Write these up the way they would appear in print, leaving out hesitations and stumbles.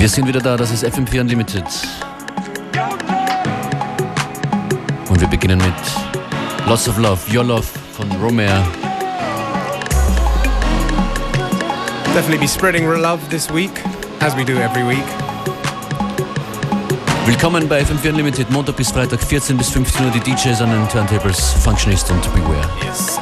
Wir sind wieder da, das ist FM4 Unlimited. Und wir beginnen mit Lots of Love, Your Love von Romare. Definitely be spreading love this week, as we do every week. Willkommen bei FM4 Unlimited, Montag bis Freitag, 14 bis 15 Uhr, die DJs an den Turntables, Functionist und Beware. Yes.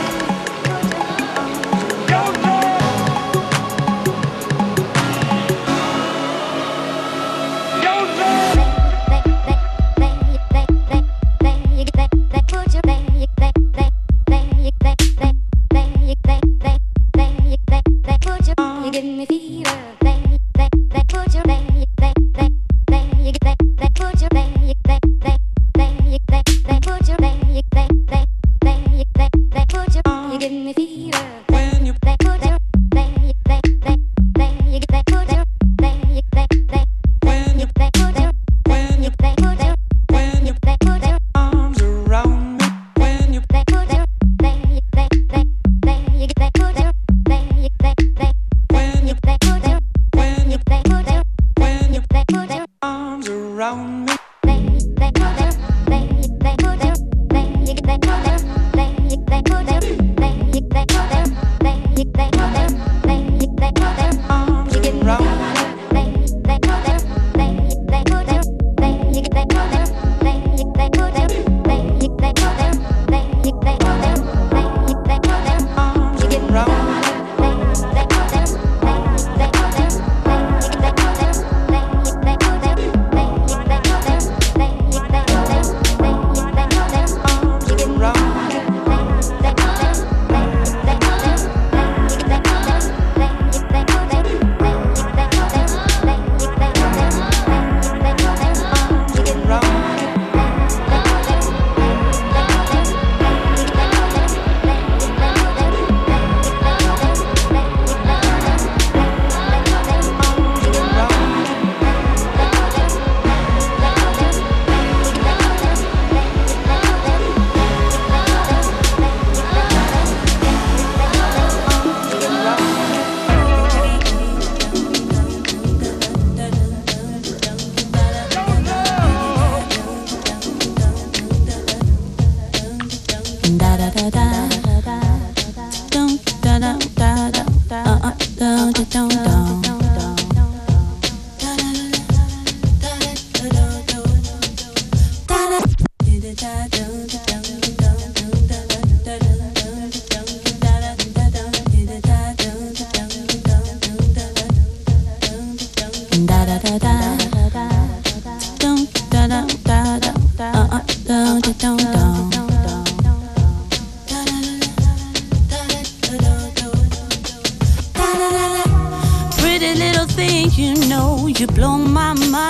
Pretty little thing, you know, you blow my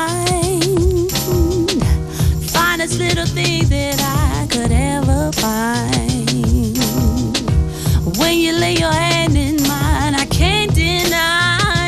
mind. Finest little thing that I could ever find. When you lay your hand in mine, I can't deny.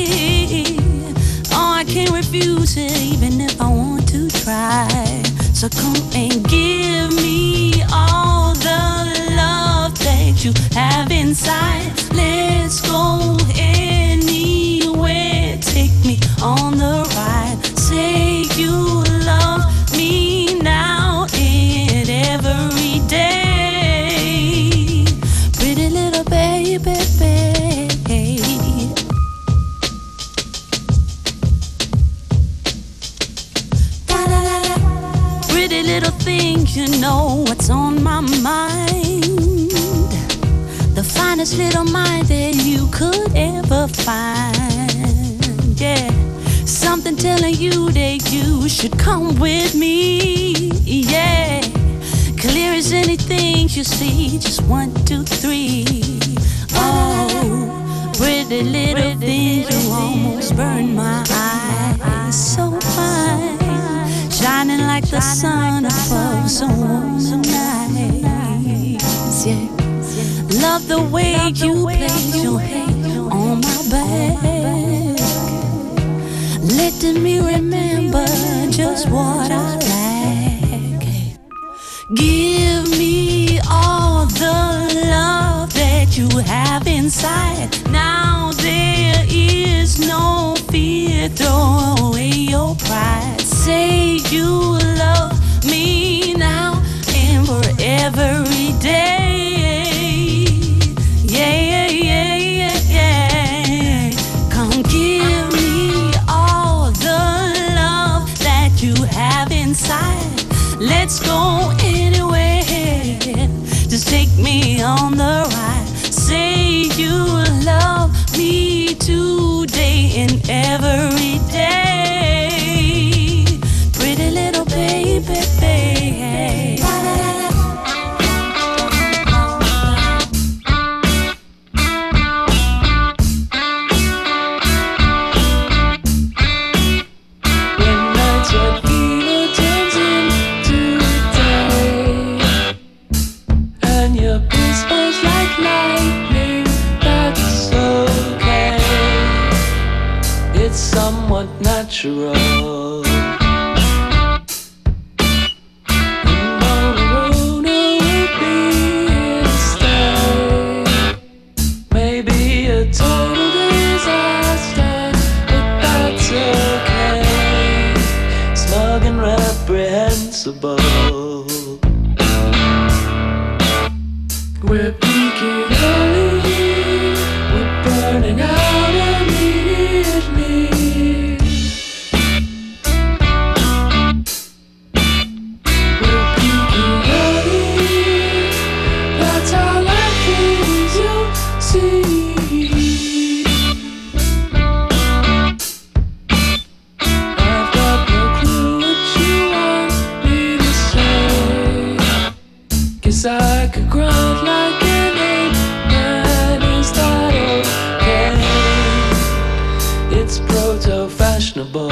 Oh, I can't refuse it, even if I want to try. So come and give me all the love that you have inside. Let's go anywhere, take me on the ride. Say you love me now and every day. Pretty little baby, pretty little thing, you know what's on my mind. The finest little mind that you could ever find. Yeah, something telling you that you should come with me. Yeah, clear as anything you see. Just 1, 2, 3. Oh, pretty little thing, you almost burned my eyes. So fine, shining like the sun above some warm nights. Yeah, love the way you place your hand on my back, letting me remember just what I like. Give me all the love that you have inside. Now there is no fear, throw away your pride. Say you love me now and for every day. Yeah, yeah, yeah, yeah. Come give me all the love that you have inside. Let's go anywhere. Just take me on the ride. Say you love me today and every day. Pretty little baby, baby. When nights are fever turns into day, and your kiss was like lightning, that's okay. It's somewhat natural. And on the road will be here to stay. Maybe a total disaster, but that's okay. Smug and reprehensible. We're peaking early, we're burning out immediately. We're peaking early, that's how life is, you see. I've got no clue what you want me to say. Guess I could grunt like an ape, and is that okay? It's proto-fashionable.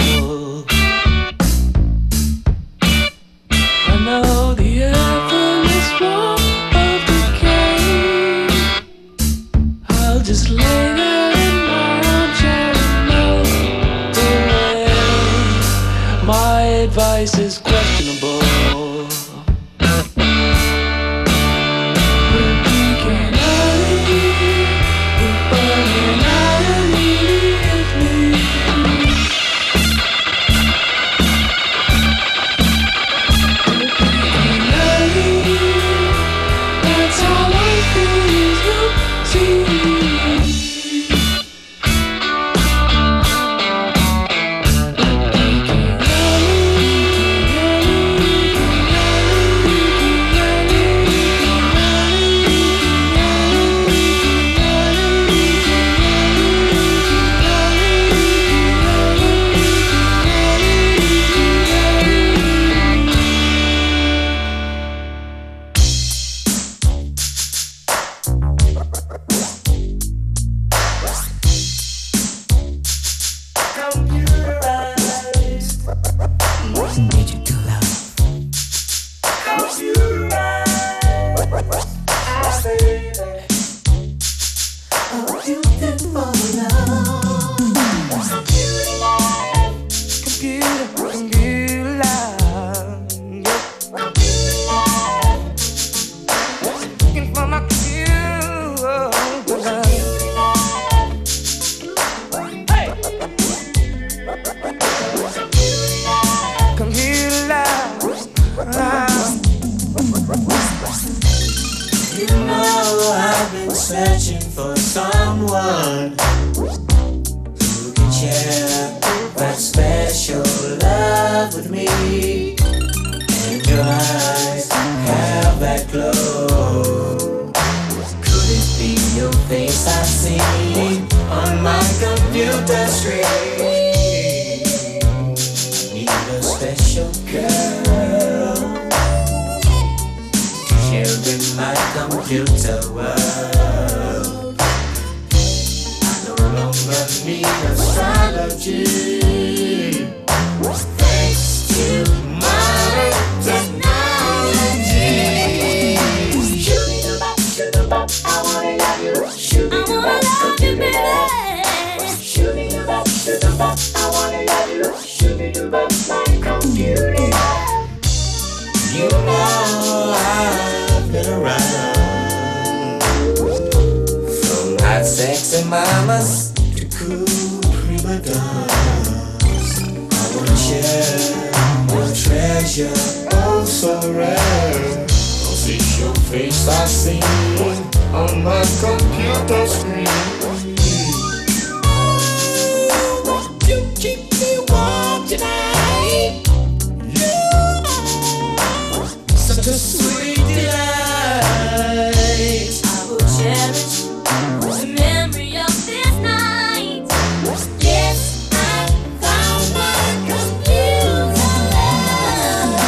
I know the effortless warmth of decay. I'll just lay there in my armchair and melt away. My advice is questionable. We're peaking early, we're burning out immediately. We're peaking early, that's how life is, you see. Searching for someone who can share that special love with me. And your eyes have that glow. Could it be your face I see on my computer screen? I need a special girl to share in my computer world. Need astrology, thanks to modern technology. Shoot-a-bop, I wanna love you. Shoot-a-bop, baby. Shoot-a-bop, I wanna love you. Shoot-a-bop, my computer. You know I've been around, from hot sexy mamas cool prima donna. picture, oh so rare. Cause it's your face I see on my computer screen. Won't you keep me warm tonight? Such a sweet delight. I will cherish the memory of this night. Yes, I found my computer love.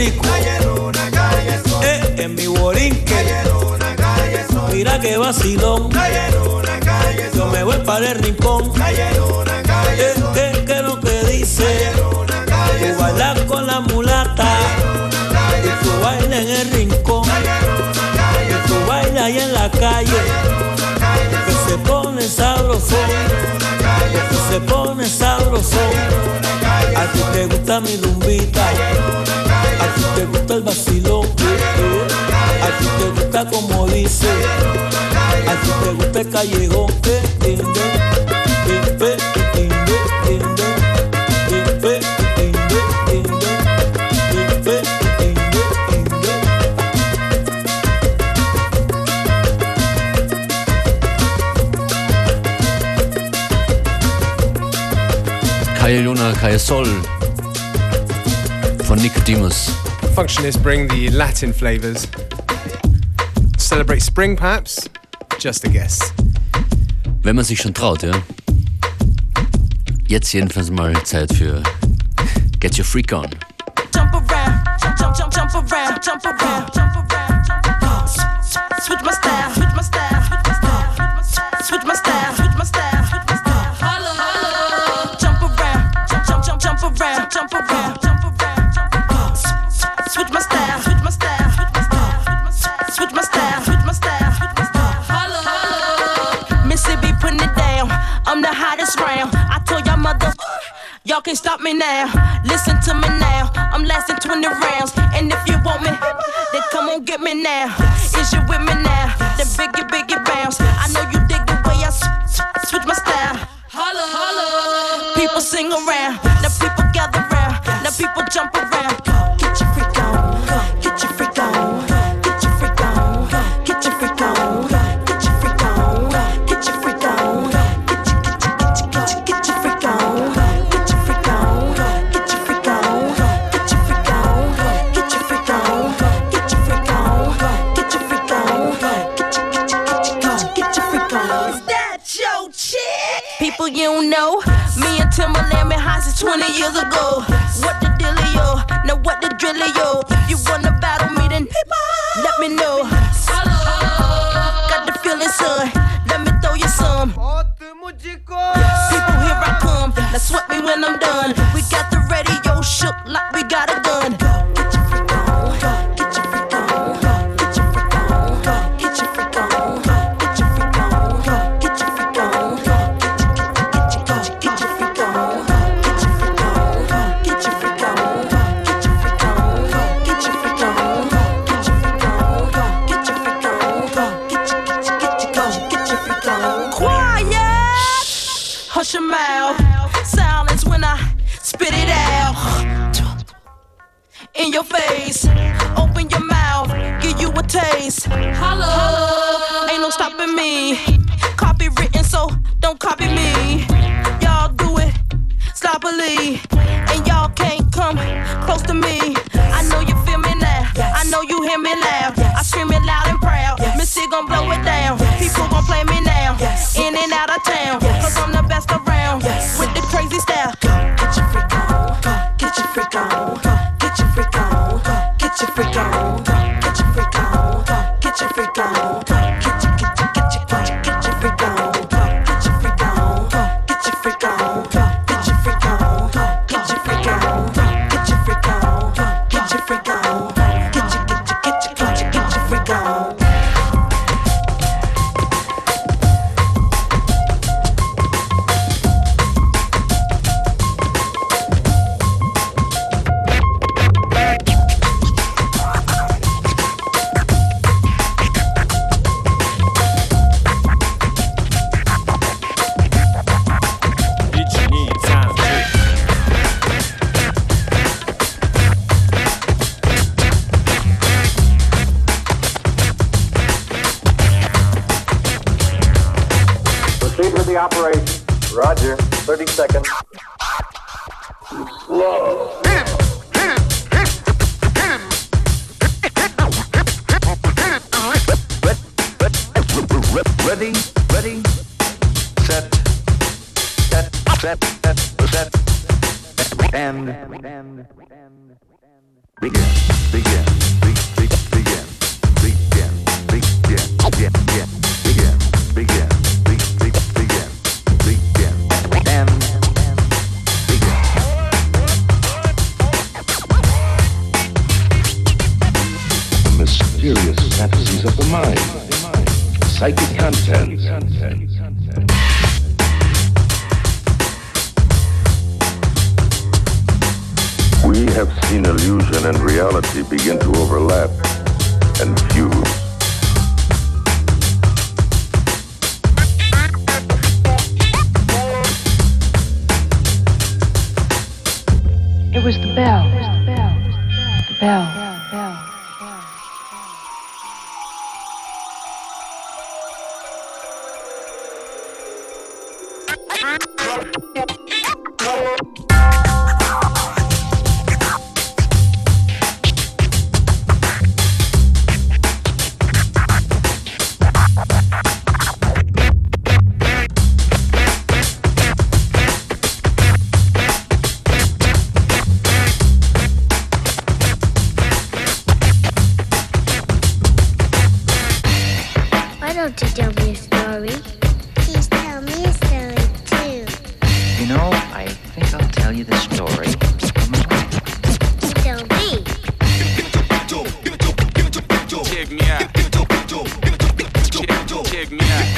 rico. En mi borinque. Mira que vacilón. Yo me voy para el rincón. ¿Qué lo que dice? Tú bailas con la mulata. Y tú bailas en el rincón. Y tú bailas ahí en la calle. Que se pone sabrosón. Que se pone sabrosón. A ti te gusta mi rumbita. A ti te gusta el vacilón. A ti te gusta como dice. A ti te gusta el callejón. Calle Luna, Calle Sol von Nicodemus. Functionists bring the Latin flavors. Celebrate spring, perhaps? Just a guess. Wenn man sich schon traut, ja. Jetzt jedenfalls mal Zeit für Get Your Freak On. Jump around, jump around, jump around, jump around. Switch my style, switch my style, switch my style, switch my style. Holla, holla. Jump around, jump around, jump around, jump around. Switch my style, switch my style, switch my style, switch my style. Holla, holla. Mississippi putting it down. I'm the hottest round. I told y'all mother. Y'all can't stop me now, listen to me now. I'm lasting 20 rounds, and if you want me, then come on get me now. Is you with me now? Then biggie bounce. I know you dig the way I switch my style. Holla, holla. People sing around, now people gather round, now people jump around. Get your freak on, get your freak on, get your freak on, get your freak on, get your freak on, get your freak on, get your freak on. People you don't know, me and Timberland been high since 20 years ago. What the dealio? Now what the drillio? If you wanna battle me, then let me know. Got the feeling, son. Let me throw you some. People, here I come. Now sweat me when I'm done. We got the radio shook like we got a gun. Get your freak on, get your freak on, get your freak on, get your freak on, get your freak on, get your freak on. Hush your mouth, silence when I spit it out. In your face, open your mouth, give you a taste. Hello, ain't no stopping me. Copywritten, so don't copy me. Y'all do it sloppily, and y'all can't come close to me. I know you feel me now, I know you hear me loud. I scream it loud and proud, Missy gon' blow it down. People gon' play me now, in and out of town, cause I'm the best around, with the crazy style. Get your freak on, get your freak on, get your freak on, get your freak on, get your freak on, get your freak on, get your freak on, get your freak on, get your freak on, get your freak on, get your freak on, get your freak on, get your freak on, get your freak on, get your freak on. Operation. Roger. 30 seconds. Slow. Hit him. Hit him. Hit him. Ready. Ready. Set. Set. Set. Set. Set. And. Mysterious fantasies of the mind, psychic content. We have seen illusion and reality begin to overlap and fuse. It was the bell. The bell. Why don't you tell me a story? Please tell me a story too. You know, I think I'll tell you the story of my life. You tell me. Check me out. Check me out.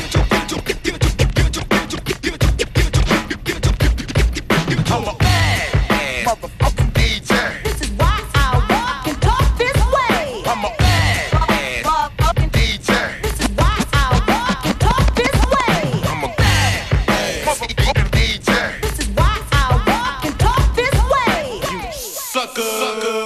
I'm a bad motherfucking DJ. This is why I walk and talk this way. I'm a bad Motherfucking DJ. This is why I walk and talk this way. I'm a bad motherfucking DJ. This is why I walk and talk this way. You sucker.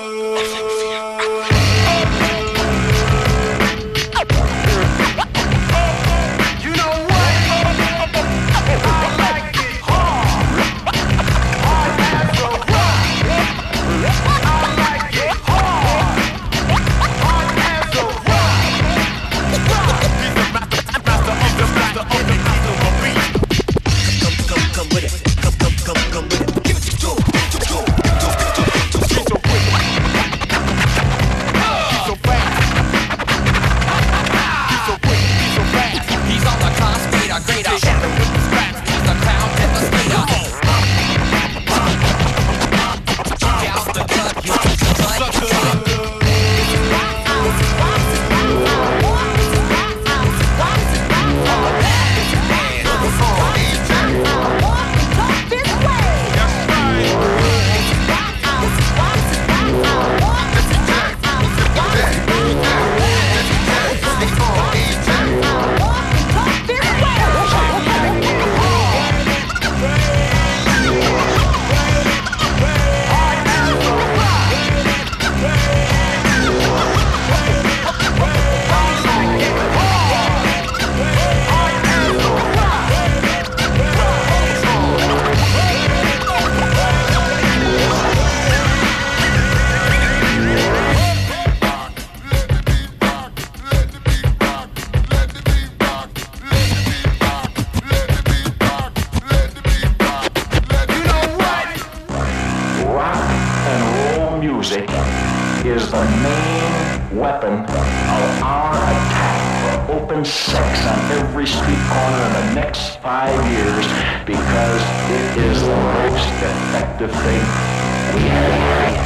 You know what? I like it hard. Hard as a rock. I like it hard. Hard as a rock. He's the master of the beat. Come with it. Come with it. Give it to him. He's so quick. He's so fast. He's so quick. He's so fast. He's on the top speed, a greater. Shadow with the scratch. He's the clown devastator. Check out the cut. You sucker. Is the main weapon of our attack for open sex on every street corner in the next 5 years because it is the most effective thing we have.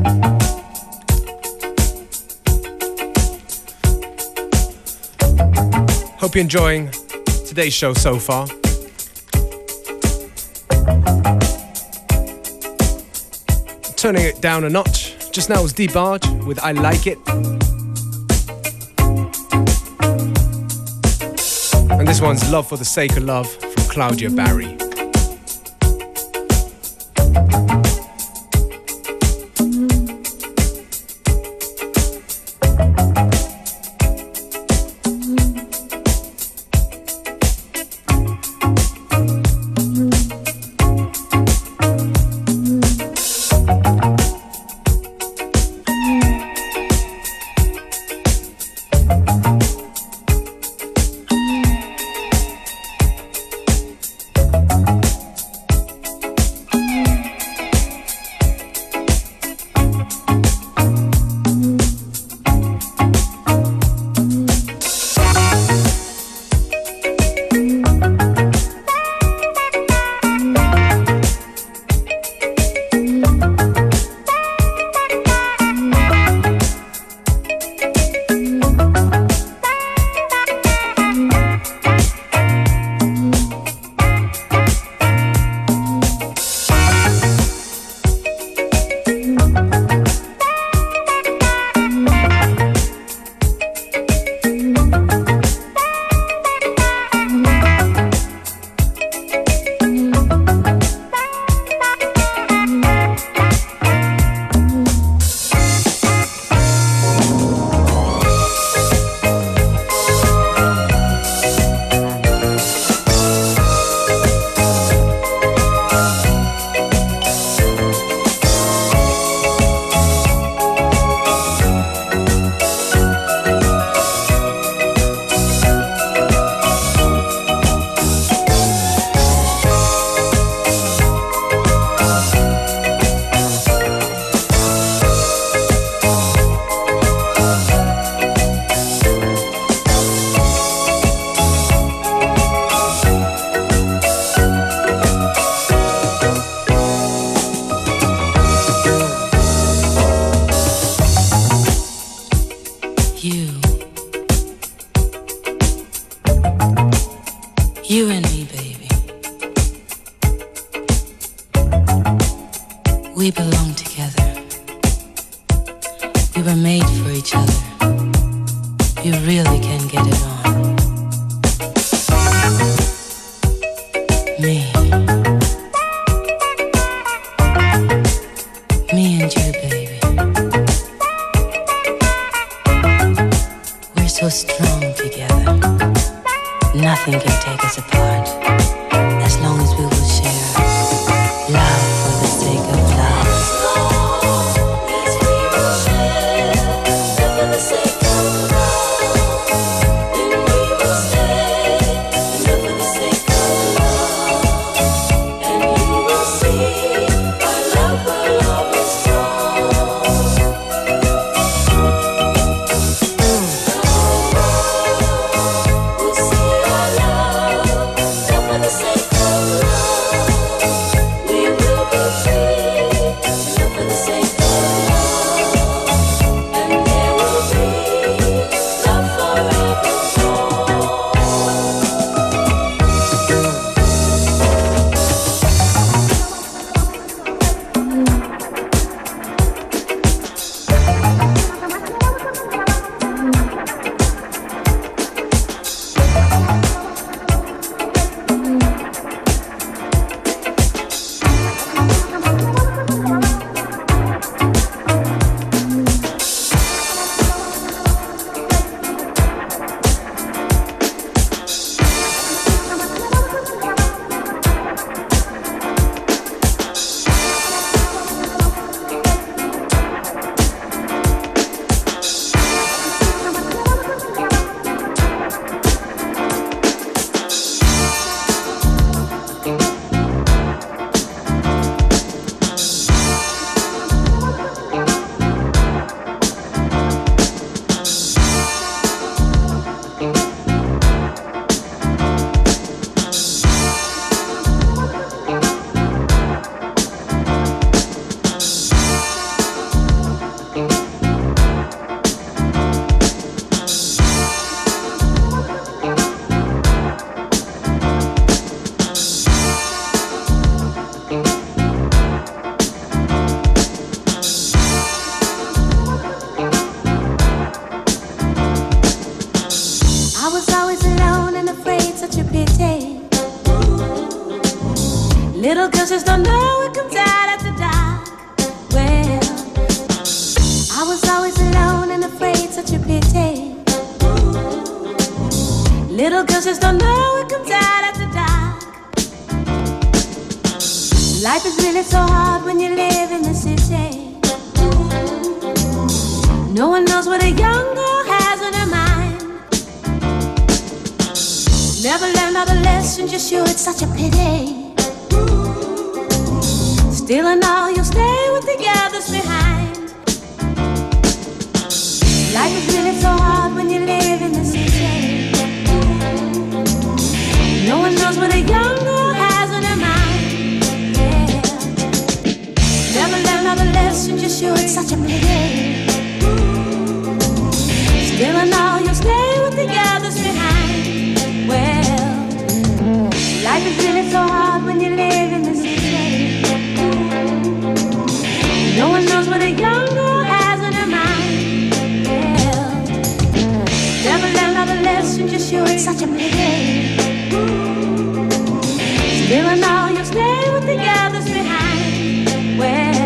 Hope you're enjoying today's show so far. Turning it down a notch. Just now was D-Barge with I Like It. And this one's Love for the Sake of Love from Claudia Barry. You and me, baby. We belong together. We were made for each other. You really can get it on. Me and you, baby. We're so strong together. Nothing can take us apart, as long as we will share love for the sake of love. As long as we will share love for the sake of love, then we will stay love for the sake of love, and you will see our love is strong. We'll see our love. it comes out after dark. Well, I was always alone and afraid, such a pity. Little girls just don't know it comes out after dark. Life is really so hard when you live in the city. No one knows what a young girl has on her mind. Never learned all the lessons, you're sure it's such a pity. Still and all, you'll stay with the others behind. Life is really so hard when you live in the city. No one knows what a young girl has on her mind. Yeah. Never learned all the lessons, you're sure it's such a pity. Still and all, you'll stay with the others behind. Well, life is really so hard when you live in the city. No one knows what a young girl has on her mind. Well, never learned all the lessons, you're sure it's such a pity. Still and all, you'll stay with the others behind. Well,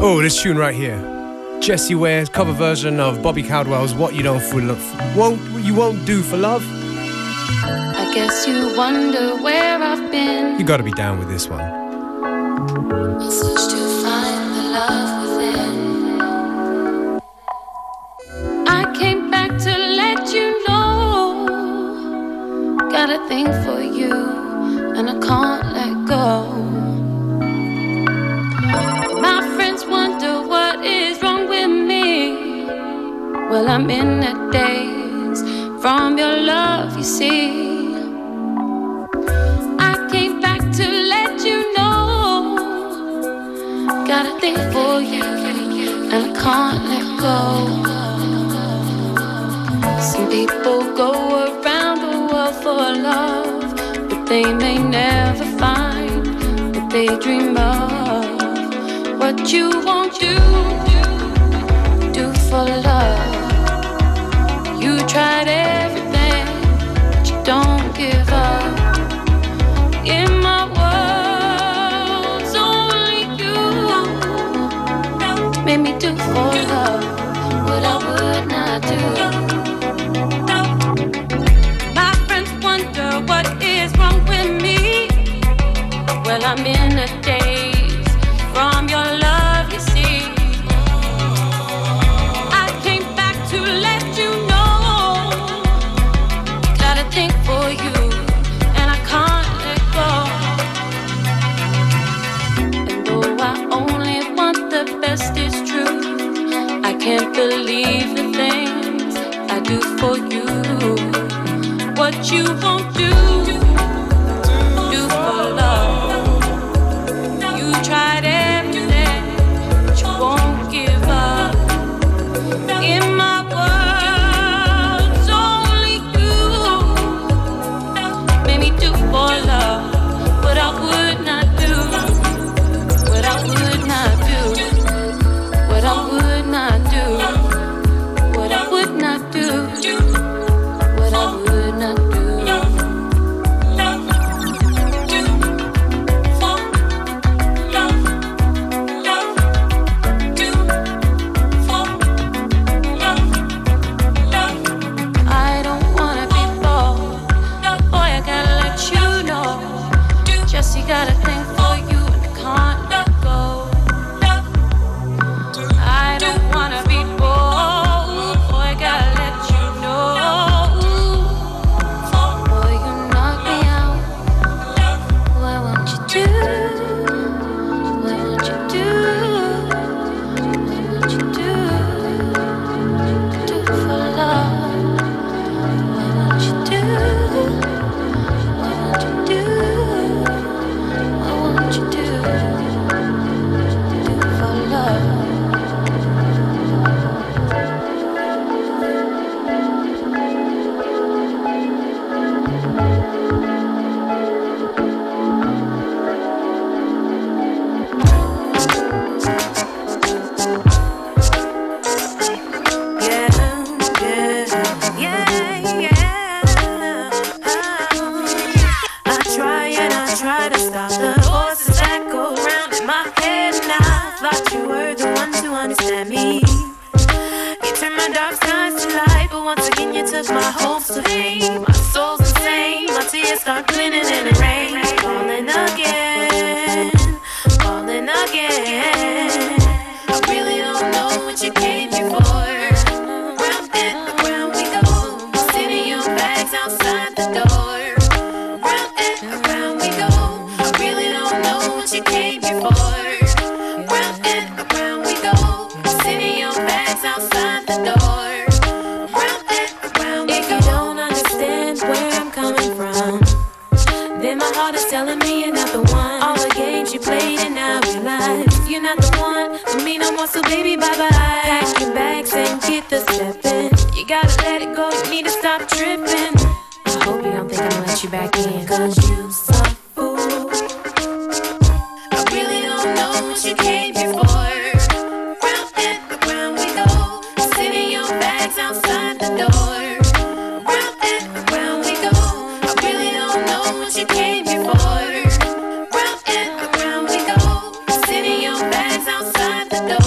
Oh, this tune right here. Jessie Ware's cover version of Bobby Caldwell's What You Don't For Love. You Won't Do For Love. I guess you wonder where I've been. You gotta be down with this one. I search to find the love within. I came back to let you know. Got a thing for you, and I can't let go. My friends wonder what is wrong with me. Well, I'm in a daze from your love, you see. I came back to let you know. Got a thing for you, and I can't let go. Some people go around the world for love, but they may never find what they dream of. What you won't do for love. You tried everything, but you don't give up. In my world, it's only you made me do for love what I would not do. My friends wonder what is wrong with me. Well, I'm in a daze from your love, you see. I came back to let you know. Got a thing for you, and I can't let go. And though I only want the best, it's true. I can't believe the things I do for you. What you won't do for love. You tried everything, but you won't give up. In my world, it's only you made me do for love what I would not do. What I would not do. What I would not do. What I would not do. What I would not do. I don't wanna be bold, boy, I gotta let you know. Jessie got a thing for you and I can't let go. I don't wanna be bold, boy, I gotta let you know. Boy, you knock me out. What won't you do? What won't you do? What won't you do? Do for love. What won't you do? What won't you do? What won't you do? Do for love. I try to stop the voices that go round in my head, and I thought you were the one to understand me. You turned my dark skies to light, but once again you took my hopes to fame. My soul's insane, my tears start glitting in the rain. Falling again, falling again. I really don't know what you came here for. Round and around we go, sitting your bags outside the door. Round and around we go, I really don't know what you came here for. Round and around we go, sitting your bags outside the door. Round and around we go. If you don't understand where I'm coming from, then my heart is telling me you're not the one. All the games you played and now realize you're not the one for me no more, so baby bye-bye. Pack your bags and get the stepping. You gotta let it go, you need to stop tripping. I hope you don't think I'm gonna let you back in, cause you so fool. I really don't know what you came here for. Round and around we go, sitting your bags outside the door. Round and around we go, I really don't know what you came here for. Round and around we go, sitting your bags outside the door.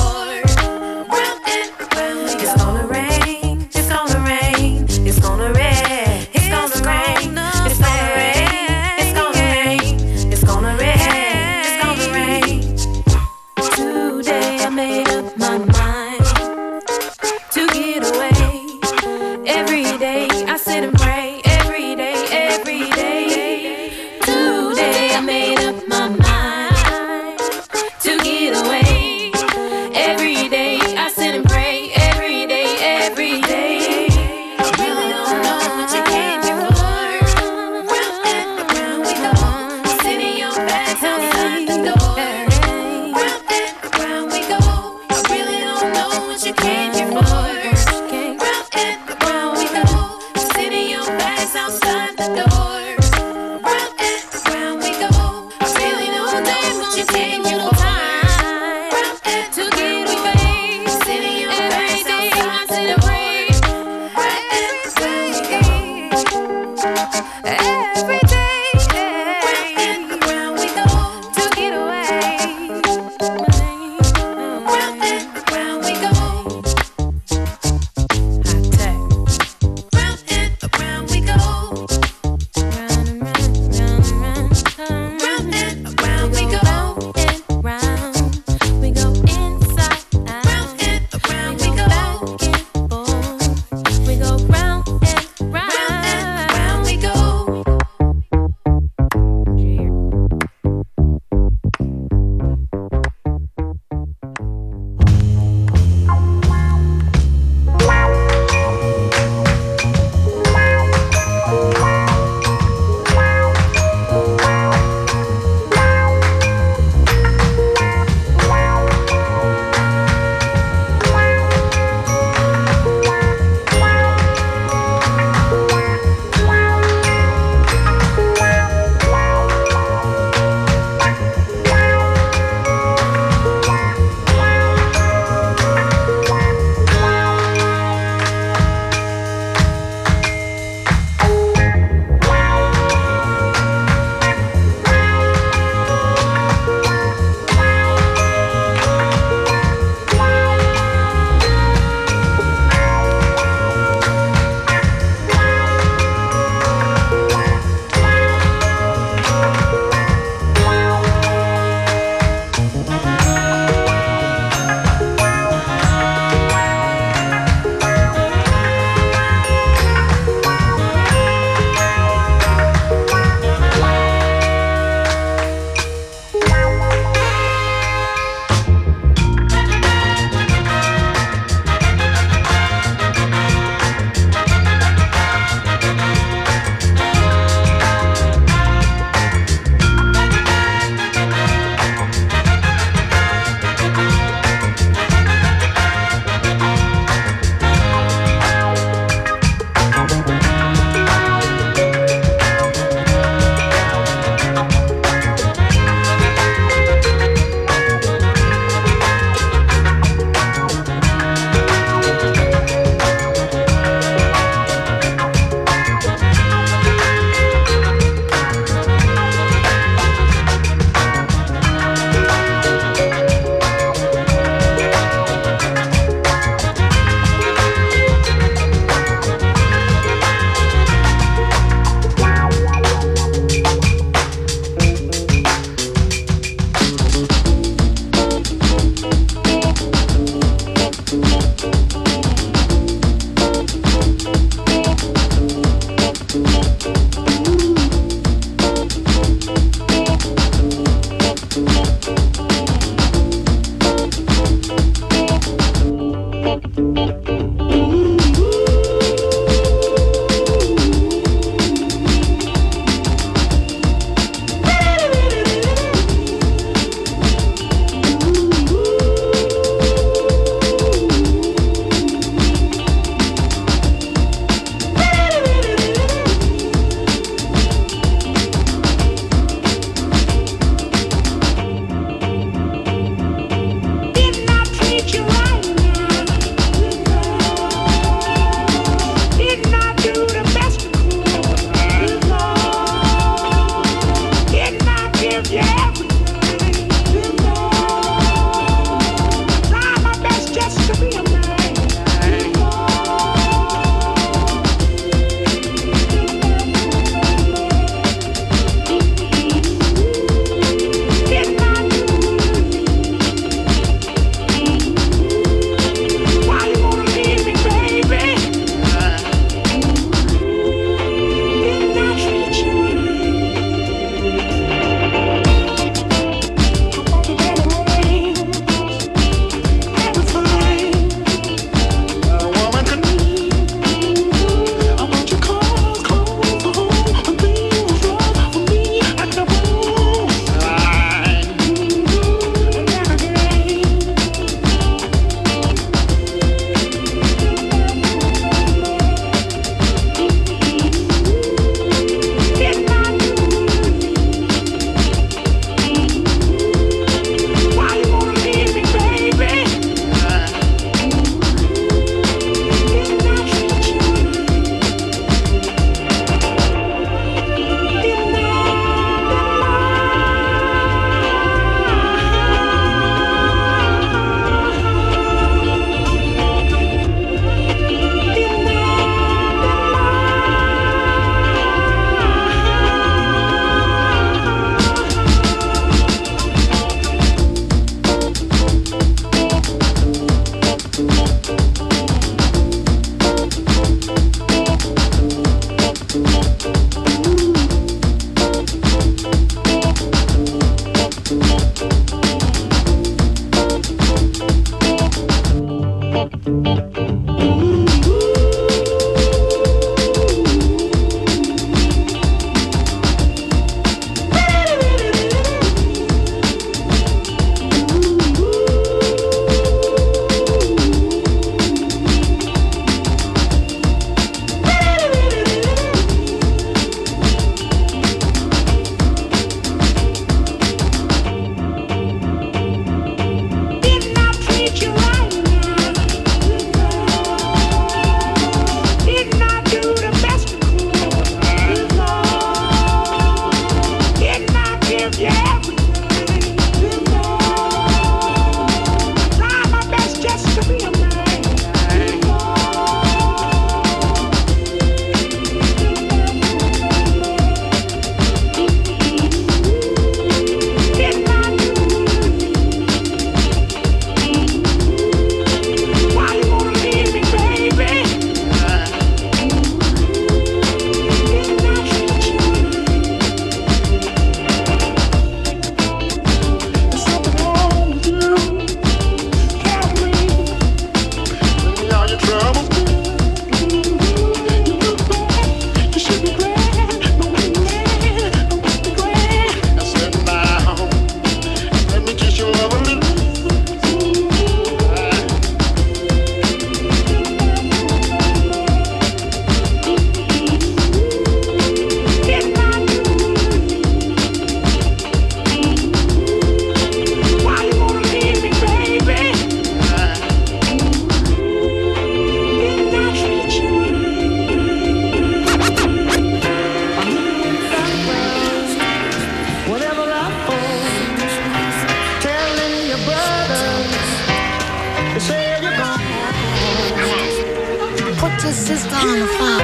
your sister on the phone.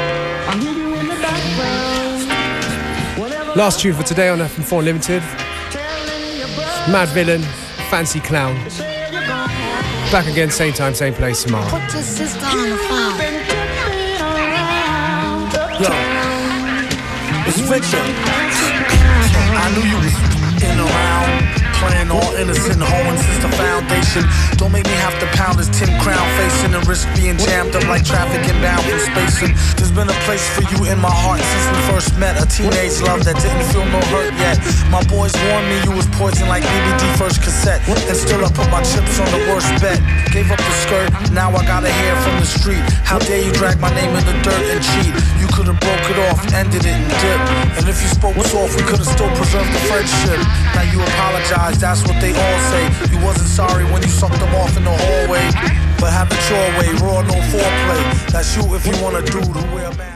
Last tune for today on FM4 Unlimited. Mad Villain, Fancy Clown. Back again, same time, same place tomorrow. Put your sister on the phone. Yo, it's Victor. I knew you was in around, playing all innocent, hoeing since the foundation. Don't make me have to pound this 10 crown facing and risk being jammed up like traffic inbound from spacing. There's been a place for you in my heart since we first met. A teenage love that didn't feel no hurt yet. My boys warned me you was poison like BBD first cassette. And still I put my chips on the worst bet. Gave up the skirt, now I got a hair from the street. How dare you drag my name in the dirt and cheat? You could've broke it off, ended it and dipped. And if you spoke soft, we could've still preserved the friendship. Now you apologize, that's what they all say. You wasn't sorry when you sucked them off in the hallway. But have it your way, raw, no foreplay. That's you if you wanna do the way a man.